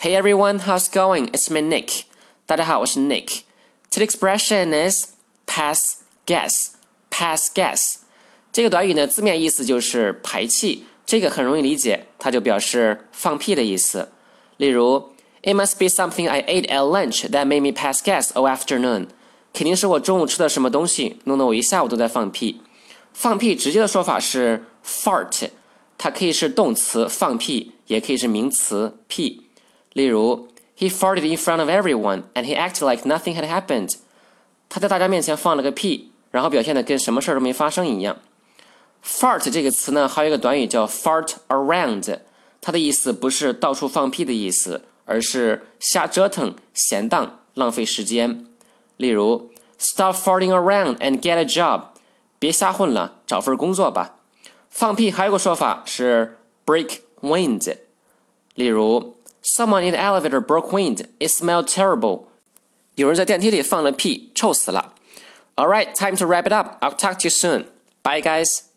Hey everyone, how's it going? It's me Nick. 大家好，我是 Nick. Today's expression is pass gas. Pass gas. 这个短语呢，字面意思就是排气，这个很容易理解，它就表示放屁的意思。例如 It must be something I ate at lunch that made me pass gas all afternoon. 肯定是我中午吃的什么东西，弄得我一下午都在放屁。放屁直接的说法是 fart， 它可以是动词放屁，也可以是名词屁。例如 He farted in front of everyone and he acted like nothing had happened. 他在大家面前放了个屁，然后表现得跟什么事都没发生一样。Fart 这个词呢，还有一个短语叫 fart around， 它的意思不是到处放屁的意思，而是瞎折腾、闲荡、浪费时间。例如 Stop farting around and get a job. 别瞎混了，找份工作吧。放屁还有个说法是 break wind。例如 Someone in the elevator broke wind. It smelled terrible. 有人在电梯里放了屁，臭死了。Alright, time to wrap it up. I'll talk to you soon. Bye guys.